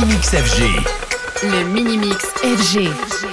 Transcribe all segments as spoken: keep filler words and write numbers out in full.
Mini-Mix F G. Le Mini-Mix F G.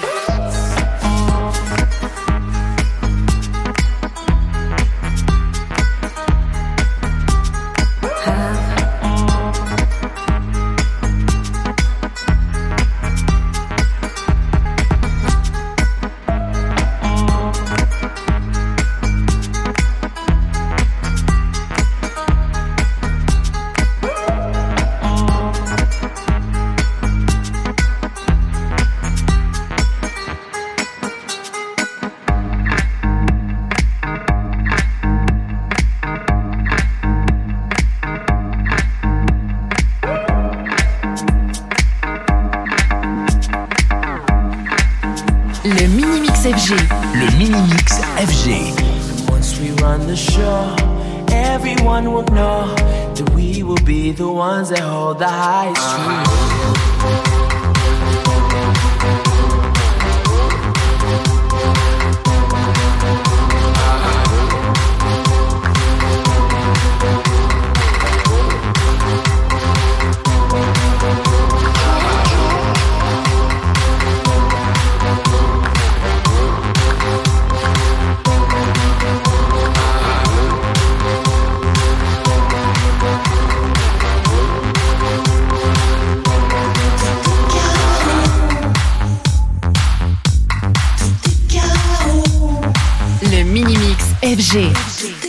Le Mini-Mix F G. Le Mini-Mix F G. Once we run the show, everyone will know that we will be the ones that hold the high street. Le Mini-Mix F G.